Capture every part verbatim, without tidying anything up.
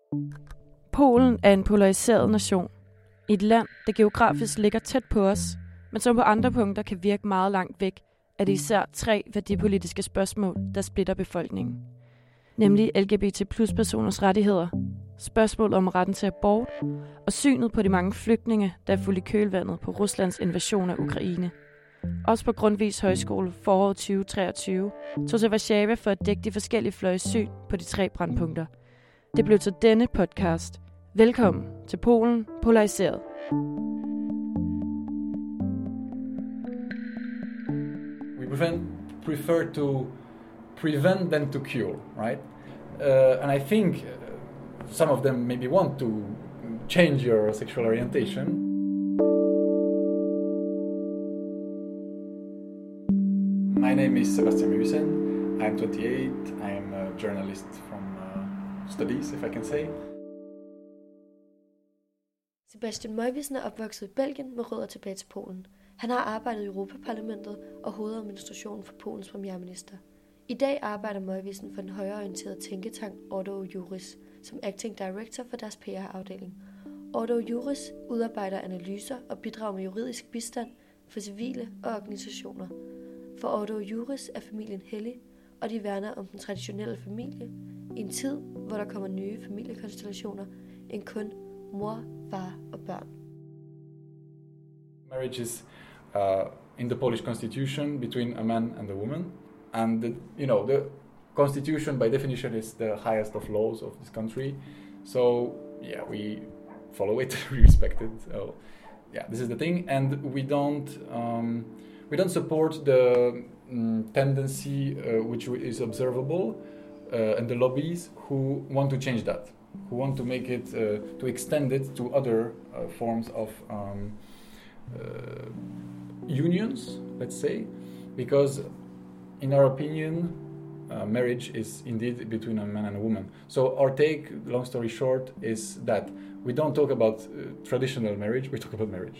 Polen er en polariseret nation. Et land, der geografisk ligger tæt på os, men som på andre punkter kan virke meget langt væk, er det især tre værdipolitiske spørgsmål, der splitter befolkningen. Nemlig L G B T plus personers rettigheder, spørgsmålet om retten til abort og synet på de mange flygtninge, der er fuldt i kølvandet på Ruslands invasion af Ukraine. Også på Grundtvigs Højskole foråret tyve treogtyve tog til Warszawa for at dække de forskellige fløjes syn på de tre brandpunkter. Det blev til denne podcast. Velkommen til Polen Polariseret. We prefer, prefer to prevent than to cure, right? Uh, and I think uh, some of them maybe want to change your sexual orientation. My name is Sebastian Muysen. I'm twenty-eight. I'm a journalist from uh, studies, if I can say. Sebastian Muysen er opvokset i Belgien med rødder tilbage til Polen. Han har arbejdet i Europaparlamentet og hovedadministrationen for Polens premierminister. I dag arbejder Muysen for den højreorienterede tænketank Ordo Juris som acting director for deres P R-afdeling. Ordo Juris udarbejder analyser og bidrager med juridisk bistand for civile og organisationer. For Ordo Juris er familien hellig, og de værner om den traditionelle familie i en tid, hvor der kommer nye familiekonstellationer end kun mor, far og børn. Marriage is uh, in the Polish constitution between a man and a woman, and the, you know the constitution by definition is the highest of laws of this country. So yeah, we follow it, we respect it. So yeah, this is the thing, and we don't um, we don't support the um, tendency uh, which is observable uh, and the lobbies who want to change that, who want to make it uh, to extend it to other uh, forms of um, uh, unions, let's say, because in our opinion uh, marriage is indeed between a man and a woman. So our take, long story short, is that we don't talk about uh, traditional marriage, we talk about marriage.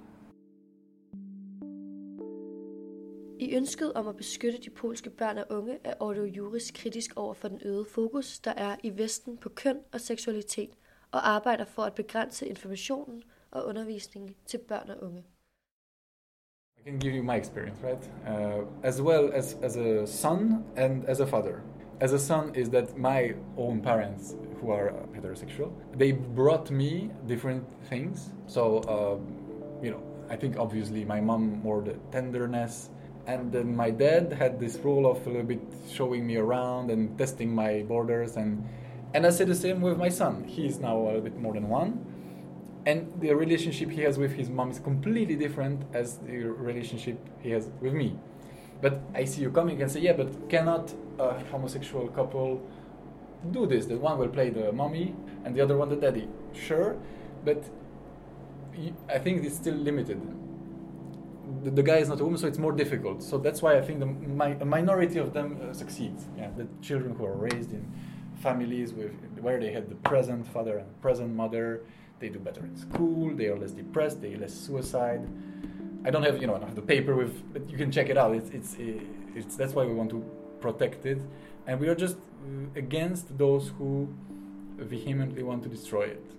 I ønsket om at beskytte de polske børn og unge er Ordo Juris kritisk over for den øgede fokus, der er i Vesten på køn og seksualitet, og arbejder for at begrænse informationen og undervisningen til børn og unge. I can give you my experience, right? Uh, as well as, as a son and as a father. As a son is that my own parents, who are heterosexual, they brought me different things. So, uh, you know, I think obviously my mom more the tenderness, and then my dad had this role of a little bit showing me around and testing my borders, and and I say the same with my son. He's now a little bit more than one, and the relationship he has with his mom is completely different as the relationship he has with me. But I see you coming and say, yeah, but cannot a homosexual couple do this? The one will play the mommy and the other one the daddy. Sure, but I think it's still limited. The, the guy is not a woman, so it's more difficult. So that's why I think the my, a minority of them uh, succeeds. Yeah, the children who are raised in families with where they had the present father and present mother, they do better in school. They are less depressed. They are less suicide. I don't have you know I don't have the paper with, but you can check it out. It's it's it's that's why we want to protect it, and we are just against those who vehemently want to destroy it.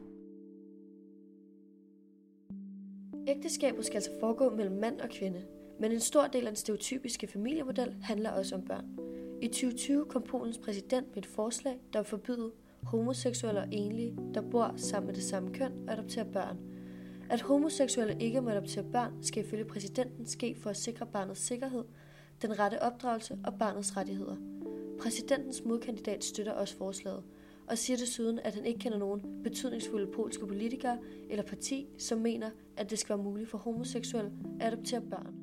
Ægteskabet skal altså foregå mellem mand og kvinde, men en stor del af den stereotypiske familiemodel handler også om børn. I tyve tyve kom Polens præsident med et forslag, der vil forbyde homoseksuelle og enlige, der bor sammen med det samme køn, at adoptere børn. At homoseksuelle ikke må adoptere børn, skal ifølge præsidenten ske for at sikre barnets sikkerhed, den rette opdragelse og barnets rettigheder. Præsidentens modkandidat støtter også forslaget, og siger desuden, at han ikke kender nogen betydningsfulde polske politikere eller parti, som mener, at det skal være muligt for homoseksuelle at adoptere børn.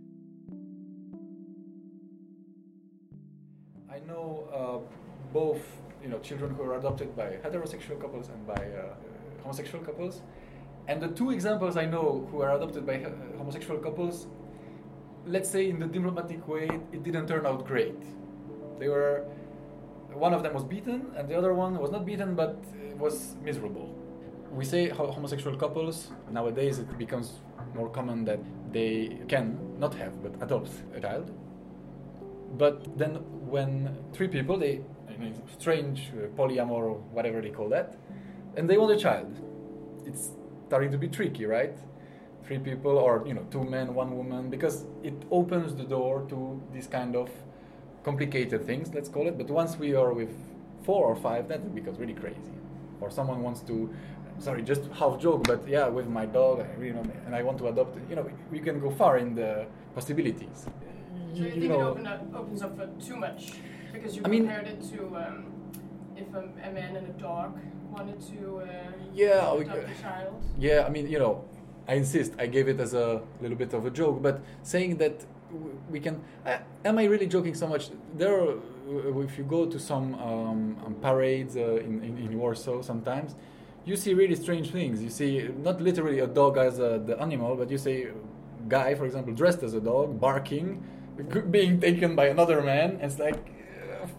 I know uh, both, you know, children who are adopted by heterosexual couples and by uh, homosexual couples, and the two examples I know who are adopted by uh, homosexual couples, let's say in the diplomatic way, it didn't turn out great. They were. One of them was beaten, and the other one was not beaten, but was miserable. We say homosexual couples, nowadays it becomes more common that they can not have, but adopt a child. But then when three people, they know, strange uh, polyamor or whatever they call that, and they want a child. It's starting to be tricky, right? Three people, or you know, two men, one woman, because it opens the door to this kind of complicated things, let's call it. But once we are with four or five, that becomes really crazy. Or someone wants to, sorry, just half joke, but yeah, with my dog, I really know, and I want to adopt it. You know, we can go far in the possibilities. So you, you think know, it open up, opens up for too much? Because you I compared mean, it to um, if a, a man and a dog wanted to uh, yeah, adopt we, a child? Yeah, I mean, you know, I insist, I gave it as a little bit of a joke, but saying that we can, uh, am I really joking so much? There are, if you go to some um, parades uh, in, in, in Warsaw sometimes, you see really strange things. You see not literally a dog as a, the animal, but you see a guy, for example, dressed as a dog, barking, being taken by another man, and it's like, uh,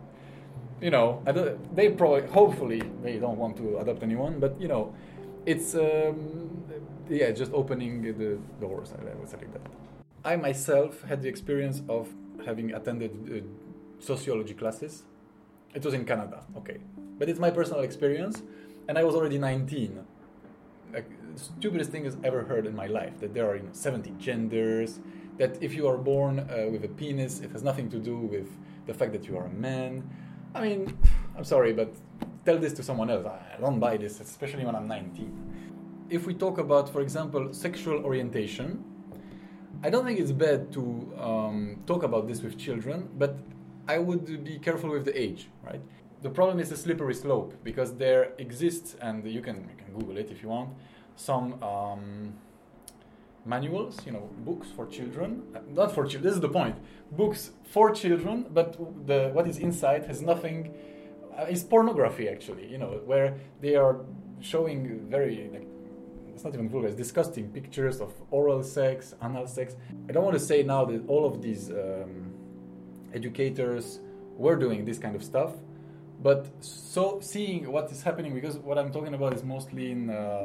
you know, I don't, they probably, hopefully, they don't want to adopt anyone, but you know, it's, um, yeah, just opening the doors, I would say like that. I myself had the experience of having attended uh, sociology classes. It was in Canada, okay. But it's my personal experience, and I was already nineteen. Like, the stupidest thing I've ever heard in my life, that there are you know, seventy genders, that if you are born uh, with a penis, it has nothing to do with the fact that you are a man. I mean, I'm sorry, but tell this to someone else. I don't buy this, especially when I'm nineteen. If we talk about, for example, sexual orientation, I don't think it's bad to um, talk about this with children, but I would be careful with the age, right? The problem is a slippery slope, because there exists, and you can, you can Google it if you want, some um, manuals, you know, books for children. Not for children, this is the point. Books for children, but the what is inside has nothing, uh, it's pornography actually, you know, where they are showing very, like, it's not even vulgar, it's disgusting pictures of oral sex, anal sex. I don't want to say now that all of these um, educators were doing this kind of stuff, but so seeing what is happening, because what I'm talking about is mostly in uh,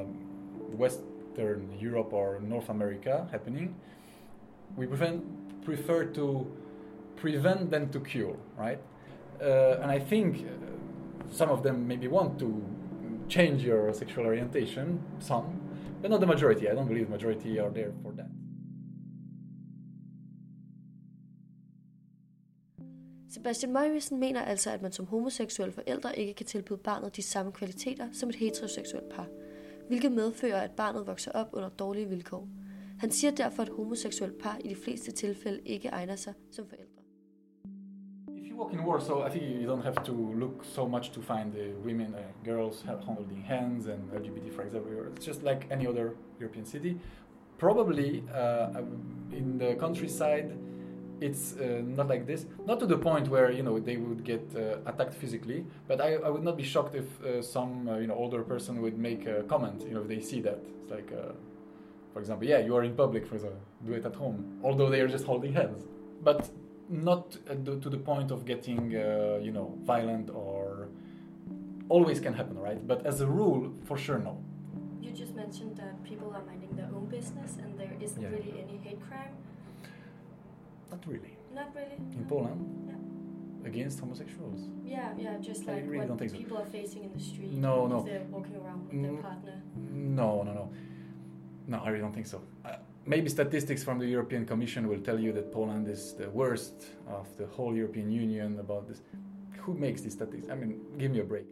Western Europe or North America happening, we prefer, prefer to prevent than to cure, right? Uh, and I think uh, some of them maybe want to change your sexual orientation, some, but not the majority. I don't believe the majority are there for that. Sebastian Møjvisen mener altså, at man som homoseksuelle forældre ikke kan tilbyde barnet de samme kvaliteter som et heteroseksuelt par, hvilket medfører, at barnet vokser op under dårlige vilkår. Han siger derfor, at homoseksuelle par i de fleste tilfælde ikke egner sig som forældre. If you walk in Warsaw, I think you don't have to look so much to find the women, uh, girls holding hands and L G B T, for example. It's just like any other European city. Probably uh, in the countryside, it's uh, not like this. Not to the point where you know they would get uh, attacked physically, but I, I would not be shocked if uh, some uh, you know older person would make a comment. You know, if they see that. It's like, uh, for example, yeah, you are in public, for example, do it at home, although they are just holding hands. But not uh, to the point of getting uh, you know violent, or always can happen, right? But as a rule, for sure, no. You just mentioned that people are minding their own business and there isn't Yeah. really any hate crime. Not really. Not really. In no. Poland, Yeah. against homosexuals. Yeah, yeah, just I like really what don't think so. people are facing in the street. No, if no. they're walking around with Mm, their partner. No, no, no. No, I really don't think so. Uh, maybe statistics from the European Commission will tell you that Poland is the worst of the whole European Union about this. Who makes these statistics? I mean, give me a break.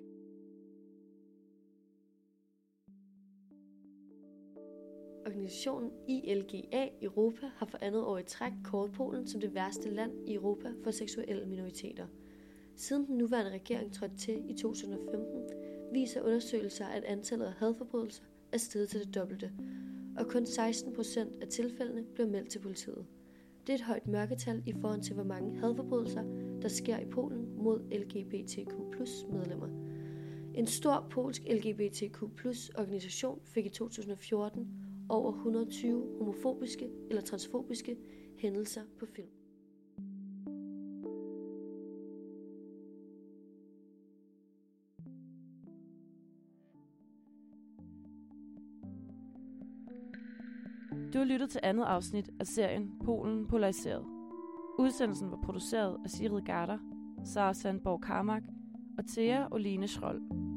Organisationen I L G A Europa har for andet år i træk kåret Polen som det værste land i Europa for seksuelle minoriteter. Siden den nuværende regering trådte til i to tusind og femten, viser undersøgelser, at antallet af hadforbrydelser er steget til det dobbelte, og kun seksten procent af tilfældene bliver meldt til politiet. Det er et højt mørketal i forhold til, hvor mange hadforbrydelser, der sker i Polen mod L G B T Q plus medlemmer. En stor polsk L G B T Q plus organisation fik i to tusind og fjorten over et hundrede og tyve homofobiske eller transfobiske hændelser på film. Du har lyttet til andet afsnit af serien Polen Polariseret. Udsendelsen var produceret af Sigrid Garder. Sara Sandborg Karmak og Thea Oline Schroll.